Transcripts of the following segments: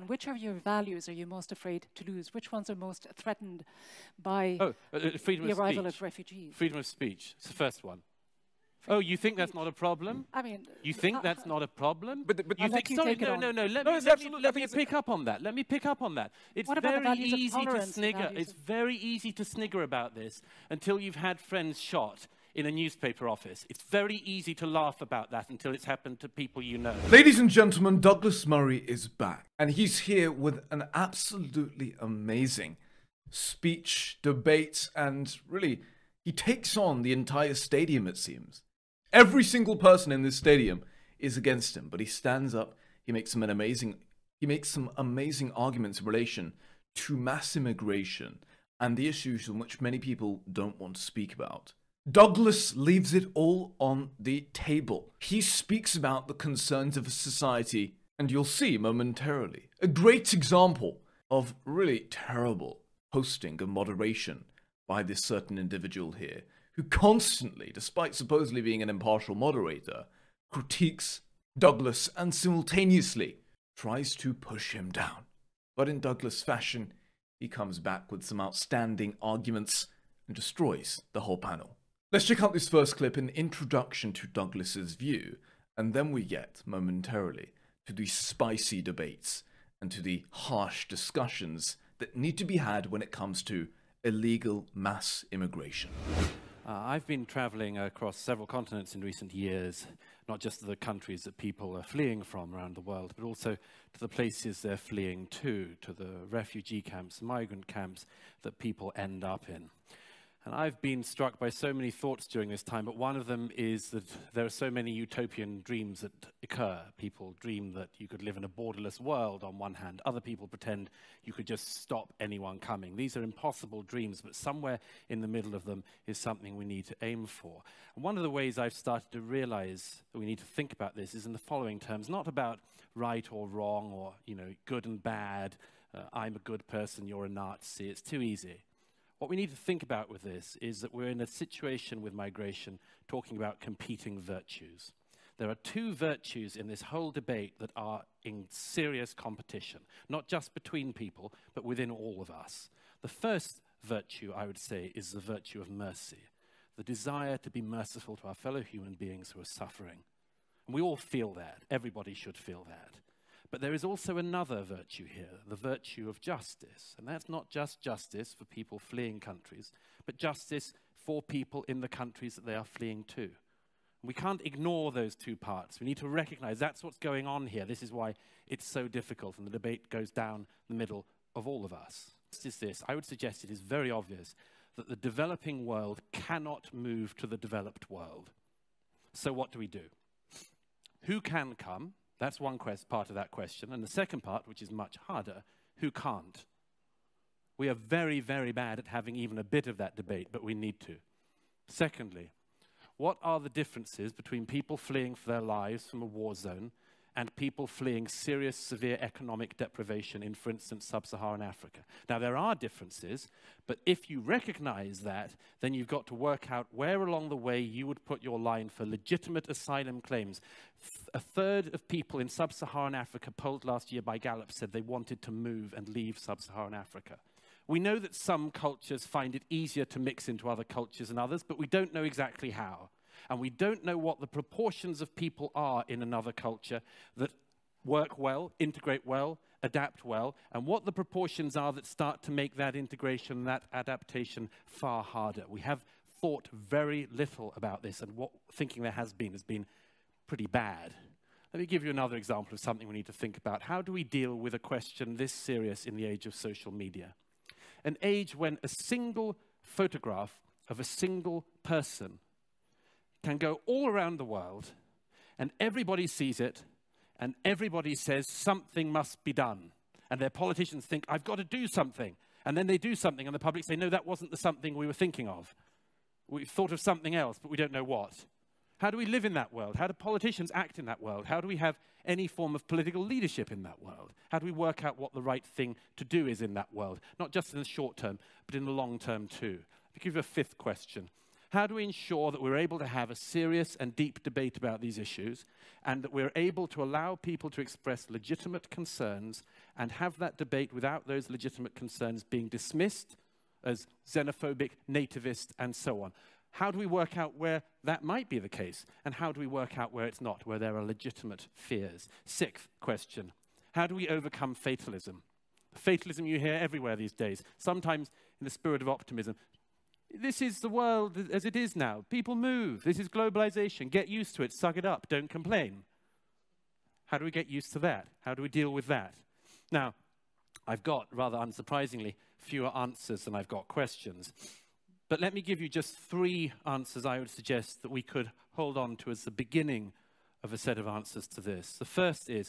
And which of your values are you most afraid to lose? Which ones are most threatened by freedom the of arrival speech. of refugees? Freedom of speech. It's the first one. Oh, you think that's not a problem? I mean, You think that's not a problem? But you think, sorry, no, let me pick up on that. Let me pick up on that. It's what about the very values of easy to tolerance, the snigger. values It's very easy to snigger about this until you've had friends shot in a newspaper office. It's very easy to laugh about that until it's happened to people you know. Ladies and gentlemen, Douglas Murray is back. And he's here with an absolutely amazing speech, debate, and really, he takes on the entire stadium, it seems. Every single person in this stadium is against him, but he stands up, he makes some amazing arguments in relation to mass immigration and the issues in which many people don't want to speak about. Douglas leaves it all on the table. He speaks about the concerns of a society, and you'll see momentarily a great example of really terrible hosting and moderation by this certain individual here, who constantly, despite supposedly being an impartial moderator, critiques Douglas and simultaneously tries to push him down. But in Douglas fashion, he comes back with some outstanding arguments and destroys the whole panel. Let's check out this first clip, an introduction to Douglas's view, and then we get, momentarily, to the spicy debates and to the harsh discussions that need to be had when it comes to illegal mass immigration. I've been traveling across several continents in recent years, not just to the countries that people are fleeing from around the world, but also to the places they're fleeing to the refugee camps, migrant camps that people end up in. And I've been struck by so many thoughts during this time, but one of them is that there are so many utopian dreams that occur. People dream that you could live in a borderless world on one hand. Other people pretend you could just stop anyone coming. These are impossible dreams, but somewhere in the middle of them is something we need to aim for. And one of the ways I've started to realize that we need to think about this is in the following terms, not about right or wrong or, good and bad. I'm a good person, you're a Nazi. It's too easy. What we need to think about with this is that we're in a situation with migration talking about competing virtues. There are two virtues in this whole debate that are in serious competition, not just between people, but within all of us. The first virtue, I would say, is the virtue of mercy, the desire to be merciful to our fellow human beings who are suffering. And we all feel that. Everybody should feel that. But there is also another virtue here, the virtue of justice. And that's not just justice for people fleeing countries, but justice for people in the countries that they are fleeing to. We can't ignore those two parts. We need to recognize that's what's going on here. This is why it's so difficult, and the debate goes down the middle of all of us. Is this? I would suggest it is very obvious that the developing world cannot move to the developed world. So what do we do? Who can come? That's one part of that question. And the second part, which is much harder, who can't? We are very, very bad at having even a bit of that debate, but we need to. Secondly, what are the differences between people fleeing for their lives from a war zone and people fleeing serious, severe economic deprivation in, for instance, sub-Saharan Africa? Now, there are differences, but if you recognize that, then you've got to work out where along the way you would put your line for legitimate asylum claims. A third of people in sub-Saharan Africa polled last year by Gallup said they wanted to move and leave sub-Saharan Africa. We know that some cultures find it easier to mix into other cultures than others, but we don't know exactly how. And we don't know what the proportions of people are in another culture that work well, integrate well, adapt well, and what the proportions are that start to make that integration, that adaptation far harder. We have thought very little about this, and what thinking there has been pretty bad. Let me give you another example of something we need to think about. How do we deal with a question this serious in the age of social media? An age when a single photograph of a single person can go all around the world, and everybody sees it, and everybody says something must be done. And their politicians think, I've got to do something. And then they do something, and the public say, no, that wasn't the something we were thinking of. We thought of something else, but we don't know what. How do we live in that world? How do politicians act in that world? How do we have any form of political leadership in that world? How do we work out what the right thing to do is in that world? Not just in the short term, but in the long term too. To give you a fifth question. How do we ensure that we're able to have a serious and deep debate about these issues, and that we're able to allow people to express legitimate concerns and have that debate without those legitimate concerns being dismissed as xenophobic, nativist, and so on? How do we work out where that might be the case? And how do we work out where it's not, where there are legitimate fears? Sixth question, how do we overcome fatalism? Fatalism you hear everywhere these days, sometimes in the spirit of optimism. This is the world as it is now. People move. This is globalization. Get used to it. Suck it up. Don't complain. How do we get used to that? How do we deal with that? Now, I've got, rather unsurprisingly, fewer answers than I've got questions. But let me give you just 3 answers I would suggest that we could hold on to as the beginning of a set of answers to this. The first is,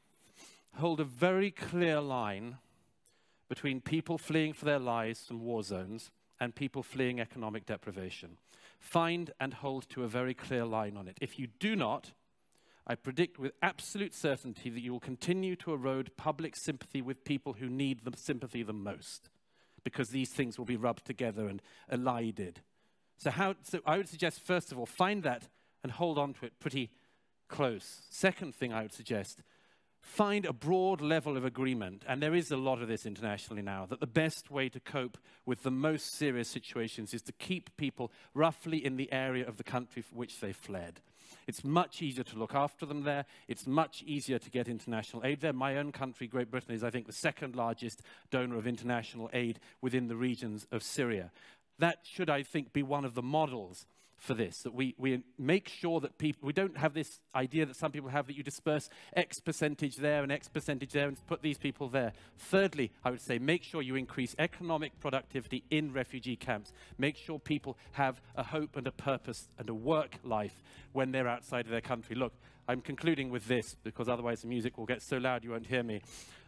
hold a very clear line between people fleeing for their lives from war zones and people fleeing economic deprivation. Find and hold to a very clear line on it. If you do not, I predict with absolute certainty that you will continue to erode public sympathy with people who need the sympathy the most, because these things will be rubbed together and elided. So I would suggest, first of all, find that and hold on to it pretty close. Second thing I would suggest, find a broad level of agreement, and there is a lot of this internationally now, that the best way to cope with the most serious situations is to keep people roughly in the area of the country for which they fled. It's much easier to look after them there. It's much easier to get international aid there. My own country, Great Britain, is, I think, the second largest donor of international aid within the regions of Syria. That should, I think, be one of the models for this, that we make sure that people, we don't have this idea that some people have that you disperse X percentage there and X percentage there and put these people there. Thirdly, I would say make sure you increase economic productivity in refugee camps. Make sure people have a hope and a purpose and a work life when they're outside of their country. Look, I'm concluding with this because otherwise the music will get so loud you won't hear me.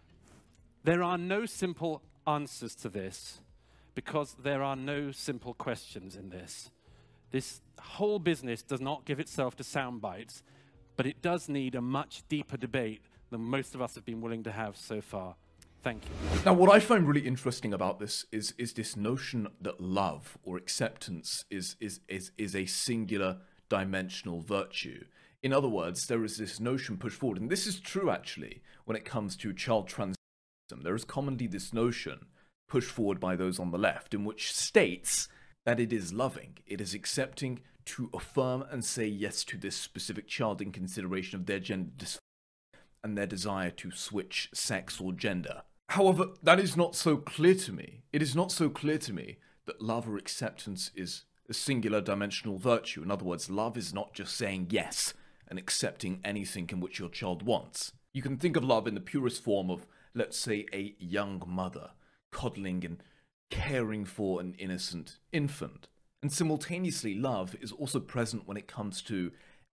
There are no simple answers to this because there are no simple questions in this. This whole business does not give itself to sound bites, but it does need a much deeper debate than most of us have been willing to have so far. Thank you. Now, what I find really interesting about this is this notion that love or acceptance is a singular dimensional virtue. In other words, there is this notion pushed forward, and this is true actually when it comes to child transition. There is commonly this notion pushed forward by those on the left in which states that it is loving, it is accepting to affirm and say yes to this specific child in consideration of their gender dysphoria and their desire to switch sex or gender. However, that is not so clear to me. It is not so clear to me that love or acceptance is a singular dimensional virtue. In other words, love is not just saying yes and accepting anything in which your child wants. You can think of love in the purest form of, let's say, a young mother coddling and caring for an innocent infant. And simultaneously, love is also present when it comes to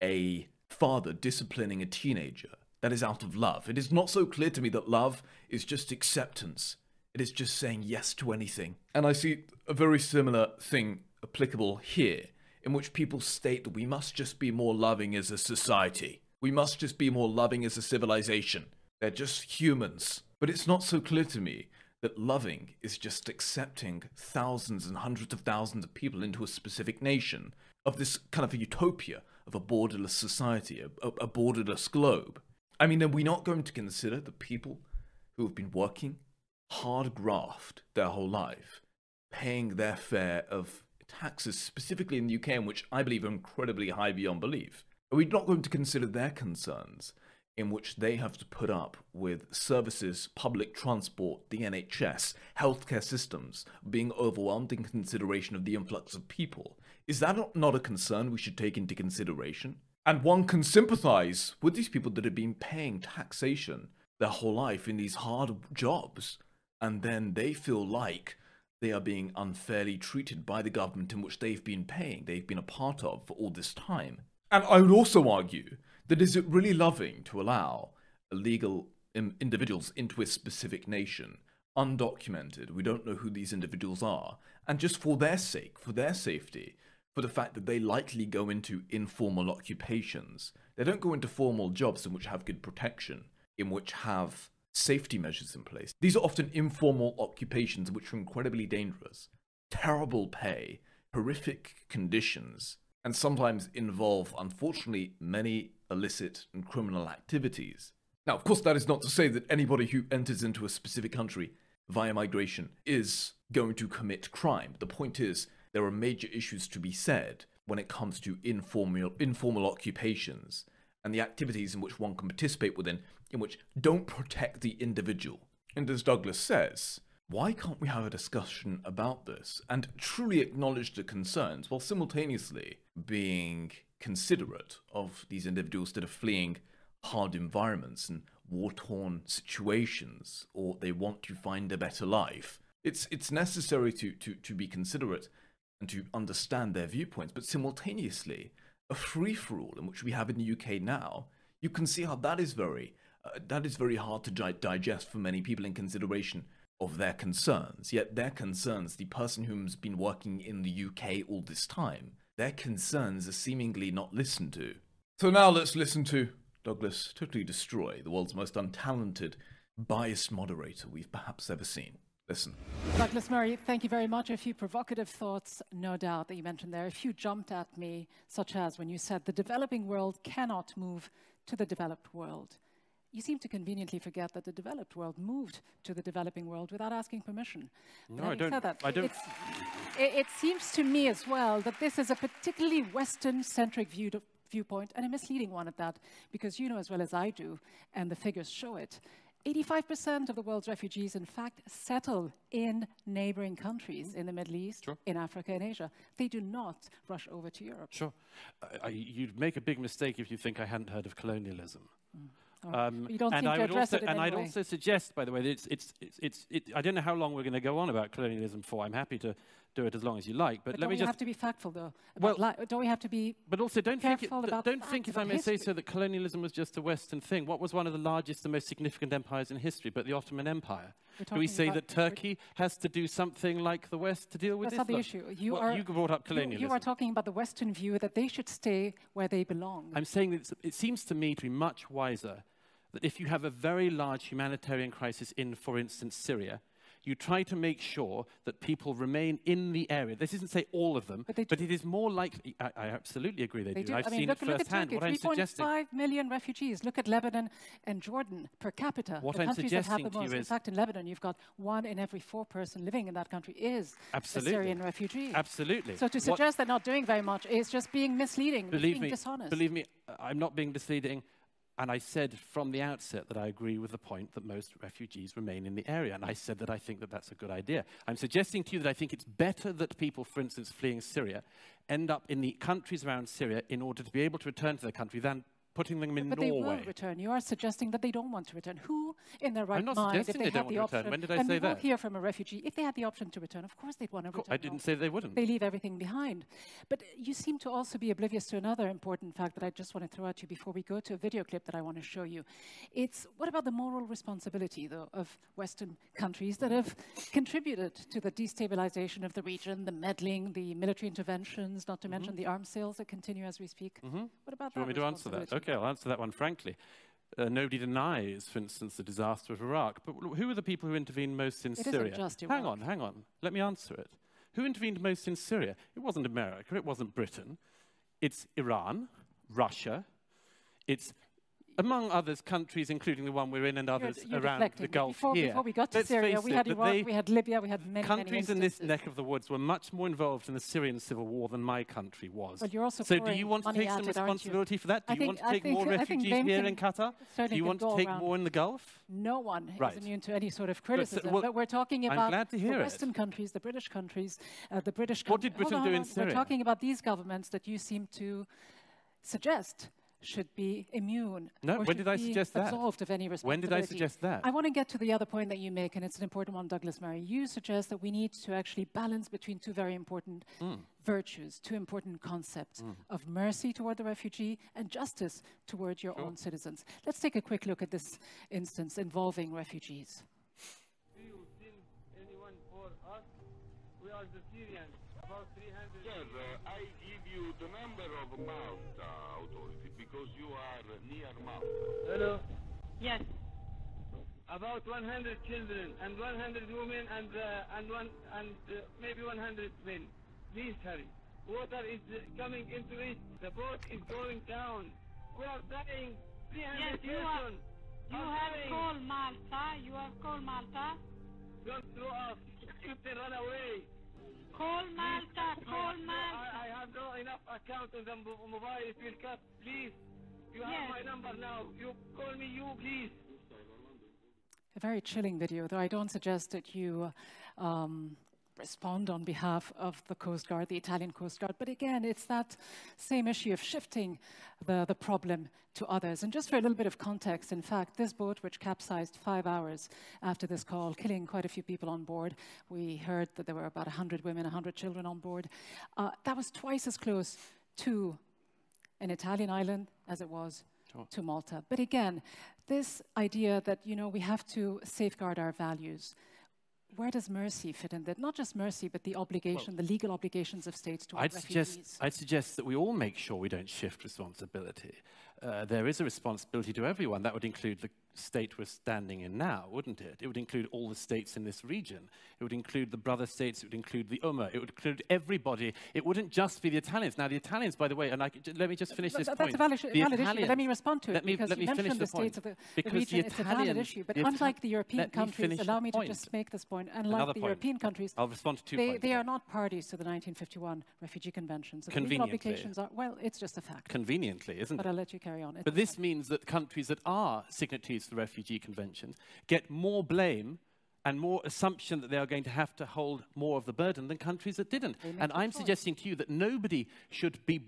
a father disciplining a teenager. That is out of love. It is not so clear to me that love is just acceptance. It is just saying yes to anything. And I see a very similar thing applicable here, in which people state that we must just be more loving as a society. We must just be more loving as a civilization. They're just humans. But it's not so clear to me that loving is just accepting thousands and hundreds of thousands of people into a specific nation, of this kind of a utopia of a borderless society, a borderless globe. I mean, are we not going to consider the people who have been working hard graft their whole life, paying their fare of taxes, specifically in the UK, in which I believe are incredibly high beyond belief? Are we not going to consider their concerns, in which they have to put up with services, public transport, the NHS, healthcare systems being overwhelmed in consideration of the influx of people? Is that not a concern we should take into consideration? And one can sympathize with these people that have been paying taxation their whole life in these hard jobs, and then they feel like they are being unfairly treated by the government in which they've been paying, they've been a part of for all this time. And I would also argue that is it really loving to allow illegal individuals into a specific nation, undocumented, we don't know who these individuals are, and just for their sake, for their safety, for the fact that they likely go into informal occupations. They don't go into formal jobs in which have good protection, in which have safety measures in place. These are often informal occupations which are incredibly dangerous, terrible pay, horrific conditions and sometimes involve, unfortunately, many illicit and criminal activities. Now, of course, that is not to say that anybody who enters into a specific country via migration is going to commit crime. The point is, there are major issues to be said when it comes to informal occupations and the activities in which one can participate within, in which don't protect the individual. And as Douglas says, why can't we have a discussion about this and truly acknowledge the concerns while simultaneously being considerate of these individuals that are fleeing hard environments and war-torn situations, or they want to find a better life? It's necessary to be considerate and to understand their viewpoints, but simultaneously, a free-for-all in which we have in the UK now, you can see how that is very hard to digest for many people in consideration of their concerns. Yet their concerns, the person who's been working in the UK all this time, their concerns are seemingly not listened to. So now let's listen to Douglas totally destroy the world's most untalented, biased moderator we've perhaps ever seen. Listen. Douglas Murray, thank you very much. A few provocative thoughts, no doubt, that you mentioned there. A few jumped at me, such as when you said the developing world cannot move to the developed world. You seem to conveniently forget that the developed world moved to the developing world without asking permission. No, I don't. It seems to me as well that this is a particularly Western-centric viewpoint, and a misleading one at that, because you know as well as I do, and the figures show it, 85% of the world's refugees, in fact, settle in neighboring countries in the Middle East, sure, in Africa and Asia. They do not rush over to Europe. Sure. You'd make a big mistake if you think I hadn't heard of colonialism. You don't seem to address it in any way. And I'd also suggest, by the way, that I don't know how long we're going to go on about colonialism for. I'm happy to do it as long as you like. But let me just... have to be factful, though. Don't we have to be But also, don't think, if I may history. say so, that colonialism was just a Western thing. What was one of the largest and most significant empires in history but the Ottoman Empire? Do we say that Turkey has to do something like the West to deal with this? That's not the issue. You brought up colonialism. You are talking about the Western view that they should stay where they belong. I'm saying that it seems to me to be much wiser that if you have a very large humanitarian crisis in, for instance, Syria, you try to make sure that people remain in the area. This isn't say all of them, but it is more likely. I absolutely agree they do. I've seen it firsthand. Look at Turkey, 3.5 million refugees. Look at Lebanon and Jordan per capita. What the I'm countries that have suggesting the to you most. is, in fact, in Lebanon, you've got 1 in every 4 person living in that country is a Syrian refugee. Absolutely. So to suggest they're not doing very much is just being misleading, being dishonest. Believe me, I'm not being misleading. And I said from the outset that I agree with the point that most refugees remain in the area. And I said that I think that that's a good idea. I'm suggesting to you that I think it's better that people, for instance, fleeing Syria, end up in the countries around Syria in order to be able to return to their country than putting them in Norway. But they will return. You are suggesting that they don't want to return. Who in their right mind, if they had the option, when did I say that? And we will hear from a refugee, if they had the option to return, of course they'd want to return. I didn't say they wouldn't. They leave everything behind. But you seem to also be oblivious to another important fact that I just want to throw at you before we go to a video clip that I want to show you. It's, what about the moral responsibility, though, of Western countries that have contributed to the destabilization of the region, the meddling, the military interventions, not to mention the arms sales that continue as we speak? What about that? Do you want me to answer that? Okay, I'll answer that one frankly. Nobody denies, for instance, the disaster of Iraq. But who are the people who intervened most in Syria? Isn't just Iraq. Hang on. Let me answer it. Who intervened most in Syria? It wasn't America. It wasn't Britain. It's Iran, Russia. It's, among others, countries, including the one we're in and others around the Gulf here. Before we got to Syria, we had Iraq, we had Libya, we had many countries in this neck of the woods were much more involved in the Syrian civil war than my country was. Well, you're also so do you want to take some responsibility for that? Do you want to take more refugees here in Qatar? Do you want to take more in the Gulf? No one is immune to any sort of criticism. But we're talking about the Western countries, the British countries, the British countries. What did Britain do in Syria? We're talking about these governments that you seem to suggest should be immune. No, when did I suggest that? Absolved of any responsibility. When did I suggest that? I want to get to the other point that you make, and it's an important one, Douglas Murray. You suggest that we need to actually balance between two very important virtues, two important concepts of mercy toward the refugee and justice toward your own citizens. Let's take a quick look at this instance involving refugees. Do you send anyone for us? We are the Syrians, about 300. Sir, I give you the number of Malta authority because you are near Malta. Hello? Yes. About 100 children and 100 women and maybe 100 men. Please hurry. Water is coming into it. The boat is going down. We are dying. 300 persons. You have called Malta. You have called Malta. Don't throw us. Captain, run away. Call Malta. Call Malta. I have no enough account on the mobile. It will cut. Please. You have my number now. You call me, please. A very chilling video, though I don't suggest that you respond on behalf of the Coast Guard, the Italian Coast Guard. But again, it's that same issue of shifting the problem to others. And just for a little bit of context, in fact, this boat, which capsized 5 hours after this call, killing quite a few people on board, we heard that there were about 100 women, 100 children on board, that was twice as close to an Italian island as it was to Malta. But again, this idea that, you know, we have to safeguard our values, where does mercy fit in that? Not just mercy, but the obligation, the legal obligations of states towards refugees. I'd suggest that we all make sure we don't shift responsibility. There is a responsibility to everyone. That would include the state we're standing in now, wouldn't it? It would include all the states in this region. It would include the brother states. It would include the Ummah. It would include everybody. It wouldn't just be the Italians. Now, the Italians, by the way, and let me just finish this point. That's a valid issue, but let me respond to it, because you mentioned the states of the region. It's a valid issue, but unlike the European countries, allow me to just make this point, unlike the European countries, I'll respond to 2 points. They are not parties to the 1951 Refugee Convention. So the legal obligations are, well, it's just a fact. Conveniently, isn't it? But I'll let you carry on. But this means that countries that are signatories to the Refugee Convention get more blame and more assumption that they are going to have to hold more of the burden than countries that didn't. And I'm suggesting to you that nobody should be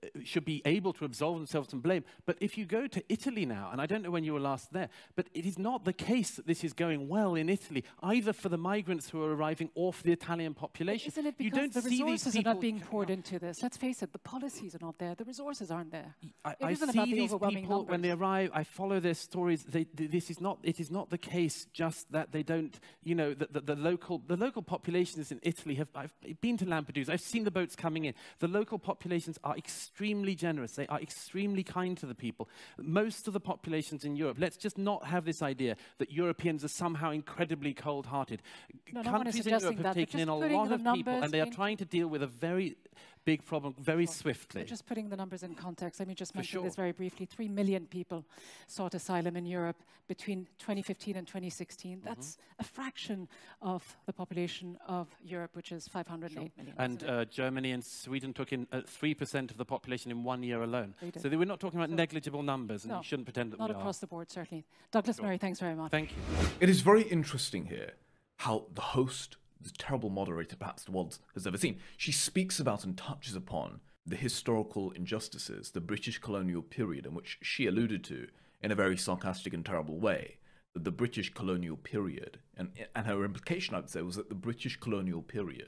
able to absolve themselves from blame. But if you go to Italy now, and I don't know when you were last there, but it is not the case that this is going well in Italy, either for the migrants who are arriving or for the Italian population. Isn't it because the resources are not being poured into this? Let's face it, the policies are not there, the resources aren't there. I see these people when they arrive, I follow their stories. It is not the case just that they don't, you know, the local populations in Italy I've been to Lampedusa, I've seen the boats coming in. The local populations are extremely generous. They are extremely kind to the people. Most of the populations in Europe, let's just not have this idea that Europeans are somehow incredibly cold-hearted. Countries in Europe have taken in a lot of people, and they are trying to deal with a very big problem very swiftly. But just putting the numbers in context, let me just mention this very briefly. 3 million people sought asylum in Europe between 2015 and 2016. That's a fraction of the population of Europe, which is 508 million. And Germany and Sweden took in 3% of the population in 1 year alone. So we're not talking about negligible numbers, and you shouldn't pretend that we are. Not across the board, certainly. Douglas Murray, thanks very much. Thank you. It is very interesting here how the host, the terrible moderator perhaps the world has ever seen, she speaks about and touches upon the historical injustices, the British colonial period, in which she alluded to in a very sarcastic and terrible way. The British colonial period, and her implication, I would say, was that the British colonial period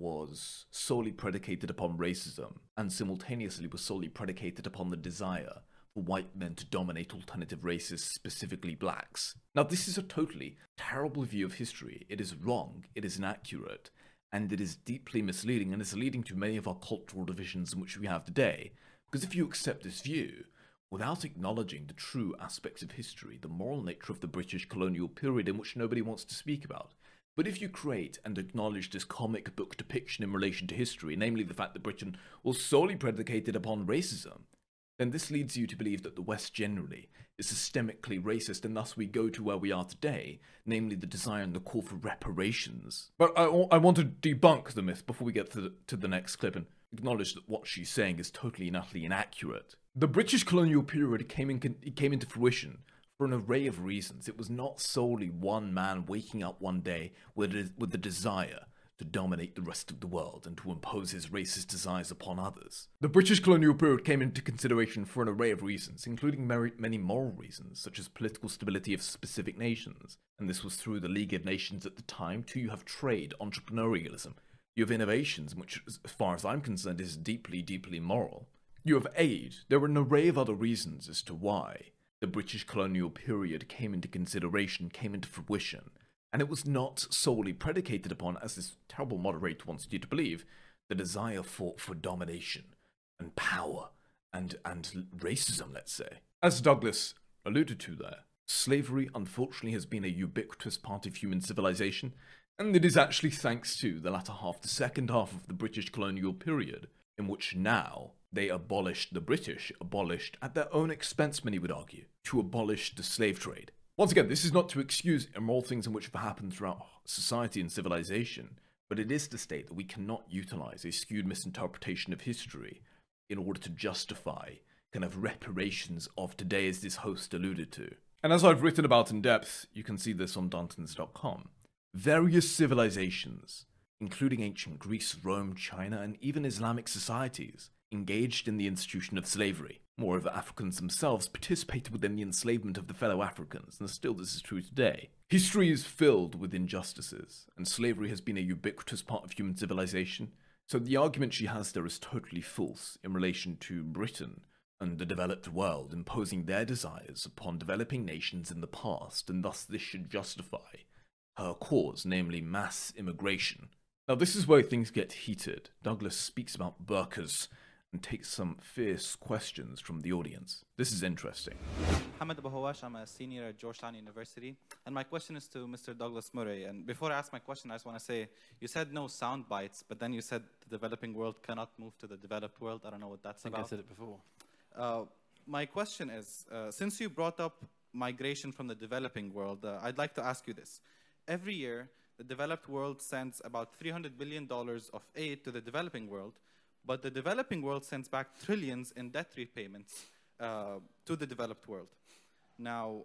was solely predicated upon racism and simultaneously was solely predicated upon the desire for white men to dominate alternative races, specifically blacks. Now, this is a totally terrible view of history. It is wrong, it is inaccurate, and it is deeply misleading, and is leading to many of our cultural divisions in which we have today. Because if you accept this view, without acknowledging the true aspects of history, the moral nature of the British colonial period in which nobody wants to speak about, but if you create and acknowledge this comic book depiction in relation to history, namely the fact that Britain was solely predicated upon racism, then this leads you to believe that the West generally is systemically racist, and thus we go to where we are today, namely the desire and the call for reparations. But I want to debunk the myth before we get to the next clip and acknowledge that what she's saying is totally and utterly inaccurate. The British colonial period came into fruition for an array of reasons. It was not solely one man waking up one day with the desire to dominate the rest of the world and to impose his racist desires upon others. The British colonial period came into consideration for an array of reasons, including many moral reasons, such as political stability of specific nations. And this was through the League of Nations at the time. Too, you have trade, entrepreneurialism. You have innovations, which, as far as I'm concerned, is deeply, deeply moral. You have aid. There were an array of other reasons as to why the British colonial period came into consideration, came into fruition. And it was not solely predicated upon, as this terrible moderator wants you to believe, the desire for domination and power and racism, let's say. As Douglas alluded to there, slavery unfortunately has been a ubiquitous part of human civilization, And it is actually thanks to the latter half, the second half of the British colonial period, in which now they abolished, the British abolished, at their own expense, many would argue, to abolish the slave trade. Once again, this is not to excuse immoral things in which have happened throughout society and civilization, but it is to state that we cannot utilize a skewed misinterpretation of history in order to justify kind of reparations of today, as this host alluded to. And as I've written about in depth, you can see this on Dantons.com, various civilizations, including ancient Greece, Rome, China, and even Islamic societies, engaged in the institution of slavery. Moreover, Africans themselves participated within the enslavement of the fellow Africans, and still this is true today. History is filled with injustices, and slavery has been a ubiquitous part of human civilization, so the argument she has there is totally false in relation to Britain and the developed world imposing their desires upon developing nations in the past, and thus this should justify her cause, namely mass immigration. Now this is where things get heated. Douglas speaks about burqas and takes some fierce questions from the audience. This is interesting. Hamad Abu Hawash, I'm a senior at Georgetown University, and my question is to Mr. Douglas Murray. And before I ask my question, I just want to say, you said no sound bites, but then you said the developing world cannot move to the developed world. I don't know what that's about. I said it before. My question is, since you brought up migration from the developing world, I'd like to ask you this. Every year, the developed world sends about $300 billion of aid to the developing world, but the developing world sends back trillions in debt repayments to the developed world. Now,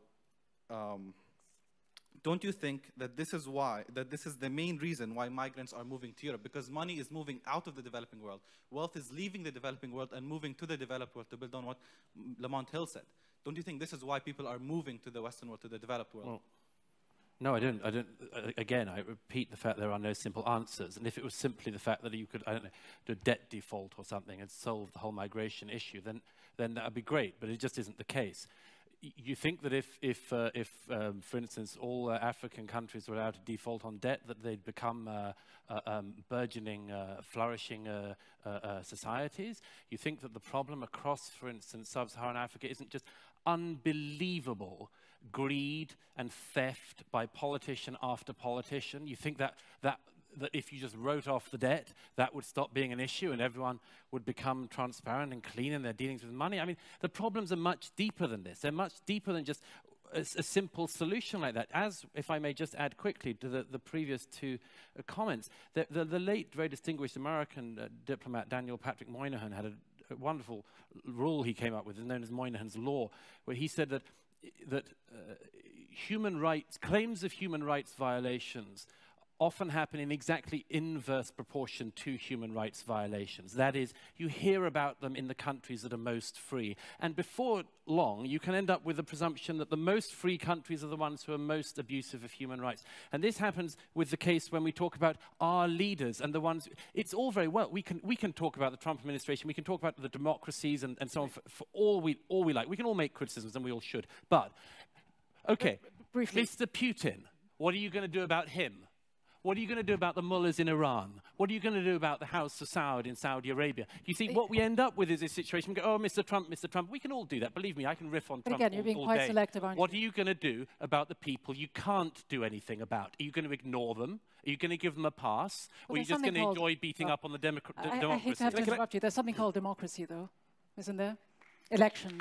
don't you think that this is the main reason why migrants are moving to Europe? Because money is moving out of the developing world. Wealth is leaving the developing world and moving to the developed world, to build on what Lamont Hill said. Don't you think this is why people are moving to the Western world, to the developed world? Well, no, I don't. Again, I repeat the fact there are no simple answers. And if it was simply the fact that you could, I don't know, do a debt default or something and solve the whole migration issue, then that would be great. But it just isn't the case. You think that if for instance, all African countries were allowed to default on debt, that they'd become burgeoning, flourishing societies? You think that the problem across, for instance, sub-Saharan Africa isn't just unbelievable greed and theft by politician after politician? You think that if you just wrote off the debt, that would stop being an issue and everyone would become transparent and clean in their dealings with money? I mean, the problems are much deeper than this. They're much deeper than just a simple solution like that. As, if I may just add quickly to the previous two comments, the late, very distinguished American diplomat Daniel Patrick Moynihan had a wonderful rule he came up with, known as Moynihan's Law, where he said that human rights, claims of human rights violations often happen in exactly inverse proportion to human rights violations. That is, you hear about them in the countries that are most free. And before long, you can end up with the presumption that the most free countries are the ones who are most abusive of human rights. And this happens with the case when we talk about our leaders and the ones, it's all very well. We can talk about the Trump administration, we can talk about the democracies and so on for all we like. We can all make criticisms, and we all should. But, okay, briefly, Mr. Putin, what are you going to do about him? What are you going to do about the mullahs in Iran? What are you going to do about the House of Saud in Saudi Arabia? You see, what we end up with is a situation, we go, oh, Mr. Trump, Mr. Trump. We can all do that. Believe me, I can riff on Trump again, you're being all quite day. selective, aren't you? What are you going to do about the people you can't do anything about? Are you going to ignore them? Are you going to give them a pass? Or are you just going to enjoy beating up on the democracy? I hate to have to interrupt you. There's something called democracy, though, isn't there? Elections.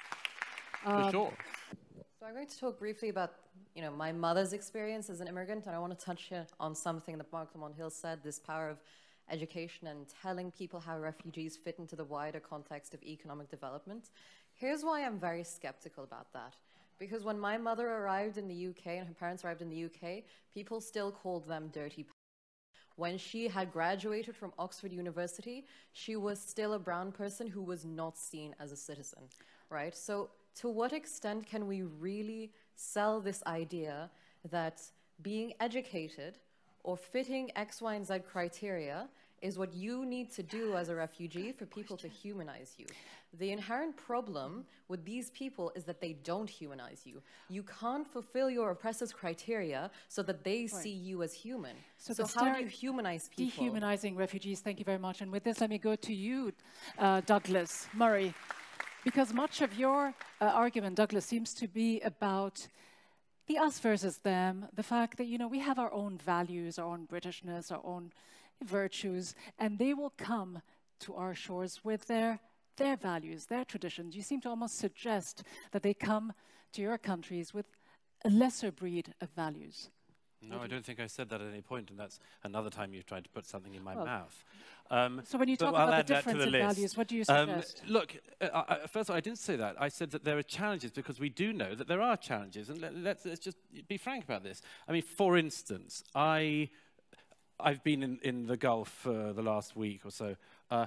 For sure. So I'm going to talk briefly about, my mother's experience as an immigrant, and I want to touch here on something that Mark Lamont Hill said, this power of education and telling people how refugees fit into the wider context of economic development. Here's why I'm very skeptical about that. Because when my mother arrived in the UK and her parents arrived in the UK, people still called them dirty. When she had graduated from Oxford University, she was still a brown person who was not seen as a citizen, right? So to what extent can we really sell this idea that being educated or fitting X, Y, and Z criteria is what you need to do as a refugee for people to humanize you? The inherent problem with these people is that they don't humanize you. You can't fulfill your oppressors' criteria so that they see you as human. So how do you humanize people? Dehumanizing refugees, thank you very much. And with this, let me go to you, Douglas Murray. Because much of your argument, Douglas, seems to be about the us versus them, the fact that, you know, we have our own values, our own Britishness, our own virtues, and they will come to our shores with their values, their traditions. You seem to almost suggest that they come to your countries with a lesser breed of values. No, I don't think I said that at any point, and that's another time you've tried to put something in my Well, mouth. So when you talk about the difference in values, what do you suggest? Look, first of all, I didn't say that. I said that there are challenges because we do know that there are challenges, and let's just be frank about this. I mean, for instance, I've been in the Gulf for the last week or so.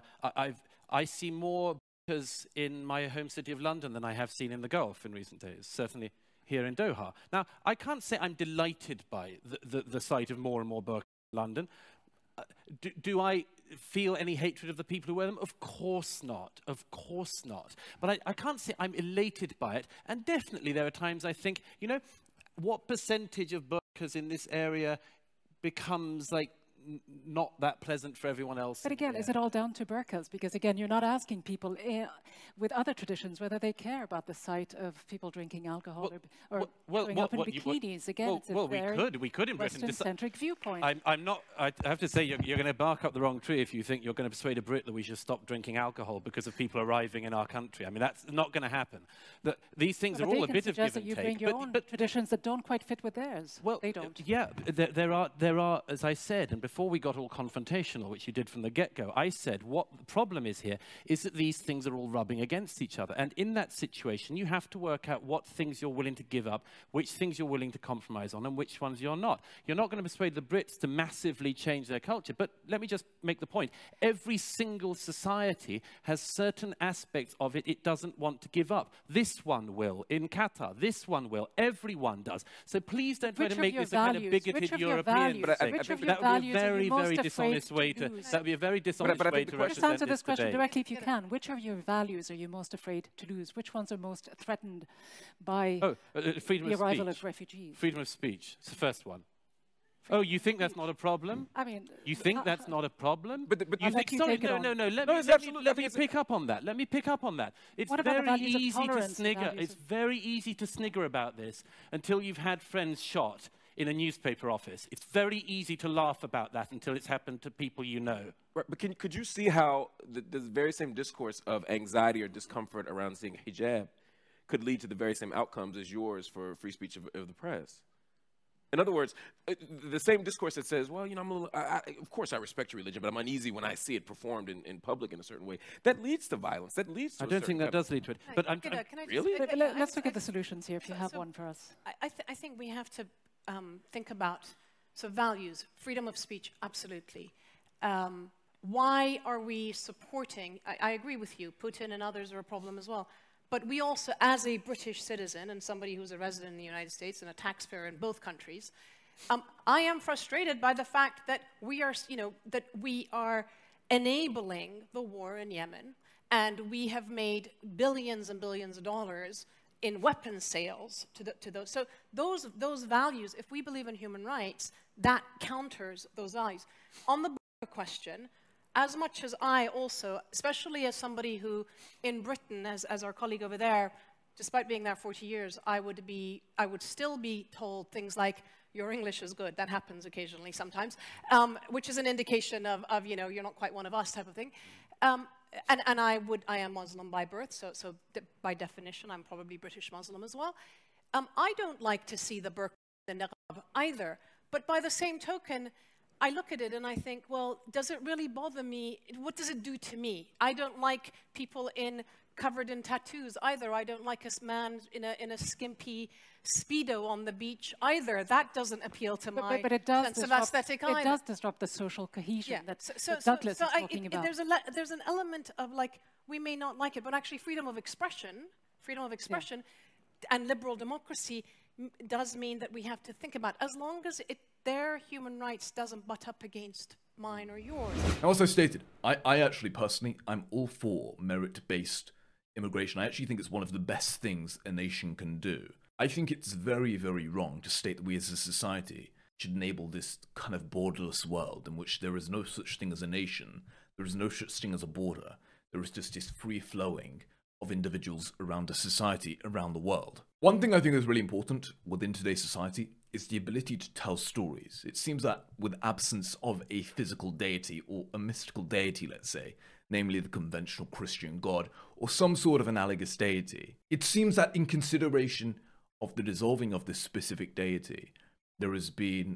I see more burqas in my home city of London than I have seen in the Gulf in recent days, certainly here in Doha. Now, I can't say I'm delighted by the sight of more and more burqas in London. Do I feel any hatred of the people who wear them? Of course not. Of course not. But I can't say I'm elated by it. And definitely there are times I think, you know, what percentage of burqas in this area becomes like not that pleasant for everyone else? But again, is it all down to burqas? Because again, you're not asking people with other traditions whether they care about the sight of people drinking alcohol or showing up in bikinis. Again, it's a very we could in Britain Western-centric viewpoint. I'm not. I have to say, you're going to bark up the wrong tree if you think you're going to persuade a Brit that we should stop drinking alcohol because of people arriving in our country. I mean, that's not going to happen. These things are all a bit of give and take. You bring your own traditions that don't quite fit with theirs. Well, they don't. Yeah, there are, as I said, and before we got all confrontational, which you did from the get-go, I said what the problem is here is that these things are all rubbing against each other. And in that situation, you have to work out what things you're willing to give up, which things you're willing to compromise on, and which ones you're not. You're not going to persuade the Brits to massively change their culture, but let me just make the point. Every single society has certain aspects of it it doesn't want to give up. This one will. In Qatar, this one will. Everyone does. So please don't try to make this a kind of bigoted European thing. That would be a very dishonest way to. That would be a very dishonest way to represent just answer this question debate. directly if you can. Which of your values are you most afraid to lose? Which ones are most threatened by the arrival of refugees? Freedom of speech. It's the first one. Oh, you think that's not a problem? I mean, you think that's not a problem? But you think? Sorry, no. Let me pick up on that. Let me pick up on that. It's very easy to snigger. It's very easy to snigger about this until you've had friends shot in a newspaper office. It's very easy to laugh about that until it's happened to people you know. Right, but could you see how the very same discourse of anxiety or discomfort around seeing hijab could lead to the very same outcomes as yours for free speech of the press? In other words, the same discourse that says, well, you know, I'm a little, of course I respect your religion, but I'm uneasy when I see it performed in public in a certain way. That leads to violence. That leads to I don't think that does lead to it. But really? Let's look at the solutions here if you have one for us. I think we have to think about values, freedom of speech, absolutely. Why are we supporting, I agree with you, Putin and others are a problem as well, but we also, as a British citizen and somebody who's a resident in the United States and a taxpayer in both countries, I am frustrated by the fact that we are enabling the war in Yemen, and we have made billions and billions of dollars in weapons sales to those. So those values, if we believe in human rights, that counters those values. On the question, as much as I also, especially as somebody who in Britain, as our colleague over there, despite being there 40 years, I would still be told things like, your English is good. That happens occasionally sometimes, which is an indication of you know, you're not quite one of us type of thing. And I am Muslim by birth, so by definition, I'm probably British Muslim as well. I don't like to see the burqa and the niqab either, but by the same token, I look at it and I think, well, does it really bother me? What does it do to me? I don't like people covered in tattoos either. I don't like a man in a skimpy Speedo on the beach either. That doesn't appeal to my sense of aesthetic either. It does disrupt the social cohesion that Douglas is talking about. There's an element of like, we may not like it, but actually freedom of expression and liberal democracy does mean that we have to think about, as long as their human rights doesn't butt up against mine or yours. I also stated, I actually personally, I'm all for merit-based immigration. I actually think it's one of the best things a nation can do. I think it's very, very wrong to state that we as a society should enable this kind of borderless world in which there is no such thing as a nation, there is no such thing as a border, there is just this free flowing of individuals around a society around the world. One thing I think is really important within today's society is the ability to tell stories. It seems that with absence of a physical deity or a mystical deity, let's say, namely the conventional Christian God or some sort of analogous deity, it seems that in consideration of the dissolving of this specific deity, there has been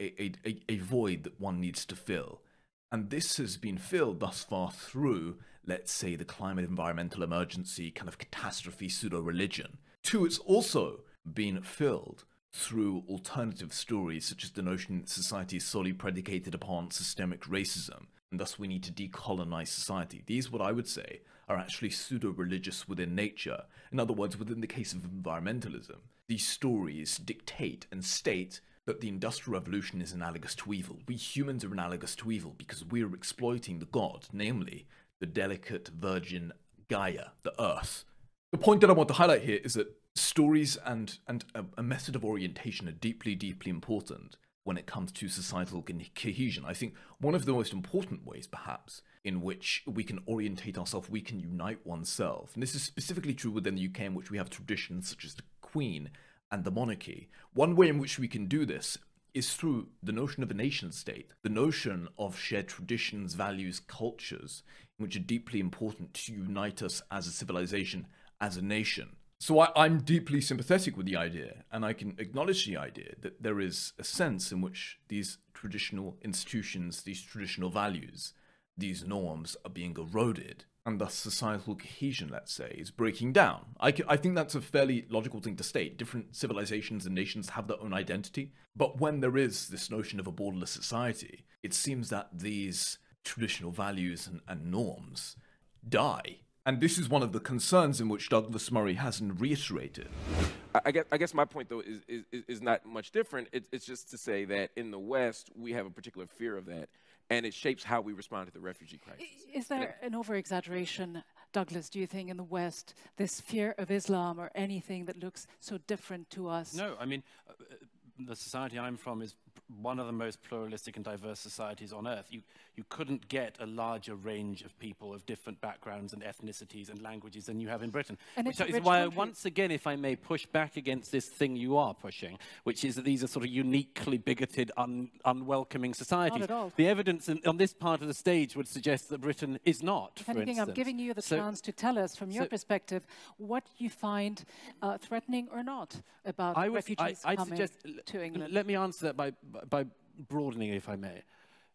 a void that one needs to fill. And this has been filled thus far through, let's say, the climate environmental emergency kind of catastrophe pseudo-religion. Two, it's also been filled through alternative stories such as the notion that society is solely predicated upon systemic racism, and thus we need to decolonize society. These, what I would say, are actually pseudo-religious within nature. In other words, within the case of environmentalism, these stories dictate and state that the Industrial Revolution is analogous to evil. We humans are analogous to evil because we are exploiting the god, namely the delicate virgin Gaia, the Earth. The point that I want to highlight here is that stories and a method of orientation are deeply, deeply important when it comes to societal cohesion. I think one of the most important ways, perhaps, in which we can orientate ourselves, we can unite oneself, and this is specifically true within the UK, in which we have traditions such as the Queen and the monarchy. One way in which we can do this is through the notion of a nation state, the notion of shared traditions, values, cultures, which are deeply important to unite us as a civilization, as a nation. So I'm deeply sympathetic with the idea, and I can acknowledge the idea that there is a sense in which these traditional institutions, these traditional values, these norms are being eroded, and thus societal cohesion, let's say, is breaking down. I think that's a fairly logical thing to state. Different civilizations and nations have their own identity, but when there is this notion of a borderless society, it seems that these traditional values and norms die. And this is one of the concerns in which Douglas Murray hasn't reiterated. I guess my point, though, is not much different. It's just to say that in the West, we have a particular fear of that, and it shapes how we respond to the refugee crisis. Is there an over-exaggeration, Douglas, do you think, in the West, this fear of Islam or anything that looks so different to us? No, I mean, the society I'm from is one of the most pluralistic and diverse societies on earth. You couldn't get a larger range of people of different backgrounds and ethnicities and languages than you have in Britain. And which is why, once again, if I may push back against this thing you are pushing, which is that these are sort of uniquely bigoted, unwelcoming societies. Not at all. The evidence on this part of the stage would suggest that Britain is not, If anything, I'm giving you the chance to tell us, from your perspective, what you find threatening or not about refugees coming to England. Let me answer that by broadening, if I may.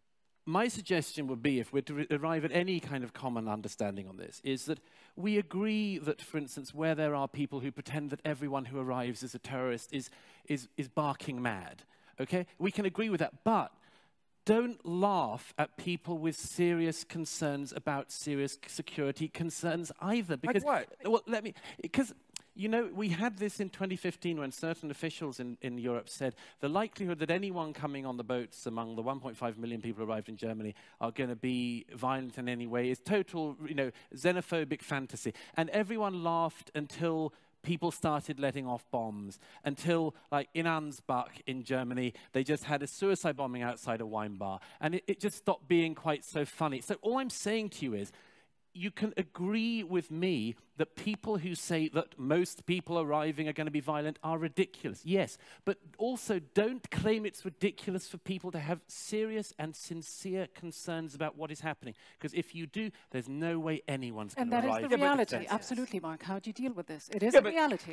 My suggestion would be, if we're to arrive at any kind of common understanding on this, is that we agree that, for instance, where there are people who pretend that everyone who arrives is a terrorist is barking mad, okay? We can agree with that, but don't laugh at people with serious concerns about serious security concerns either. Because, like what? Well, because, you know, we had this in 2015 when certain officials in Europe said the likelihood that anyone coming on the boats among the 1.5 million people who arrived in Germany are going to be violent in any way is total, you know, xenophobic fantasy. And everyone laughed until people started letting off bombs, until, like, in Ansbach in Germany, they just had a suicide bombing outside a wine bar. And it just stopped being quite so funny. So all I'm saying to you is, you can agree with me that people who say that most people arriving are going to be violent are ridiculous. Yes, but also don't claim it's ridiculous for people to have serious and sincere concerns about what is happening. Because if you do, there's no way anyone's going to arrive. And that is the reality. Absolutely, Mark. How do you deal with this? It is a reality.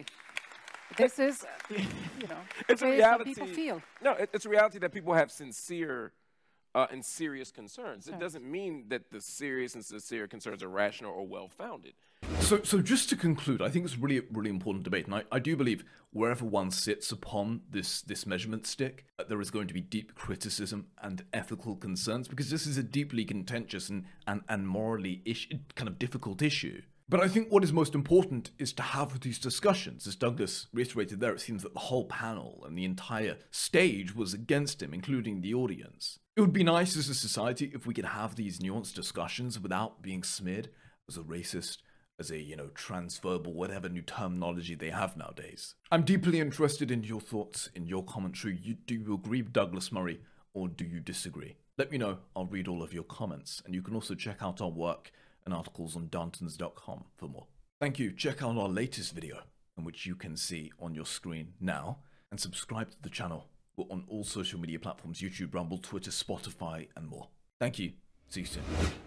This is, you know, it's a reality. People feel. No, it's a reality that people have sincere and serious concerns. It doesn't mean that the serious and sincere concerns are rational or well-founded. So just to conclude, I think it's really, really important debate, and I do believe wherever one sits upon this measurement stick, there is going to be deep criticism and ethical concerns, because this is a deeply contentious and morally kind of difficult issue. But I think what is most important is to have these discussions. As Douglas reiterated there, it seems that the whole panel and the entire stage was against him, including the audience. It would be nice as a society if we could have these nuanced discussions without being smeared as a racist, as a, you know, transverbal, whatever new terminology they have nowadays. I'm deeply interested in your thoughts, in your commentary. Do you agree with Douglas Murray, or do you disagree? Let me know. I'll read all of your comments, and you can also check out our work and articles on Dantons.com for more. Thank you. Check out our latest video, in which which you can see on your screen now, and subscribe to the channel. We're on all social media platforms: YouTube, Rumble, Twitter, Spotify, and more. Thank you. See you soon.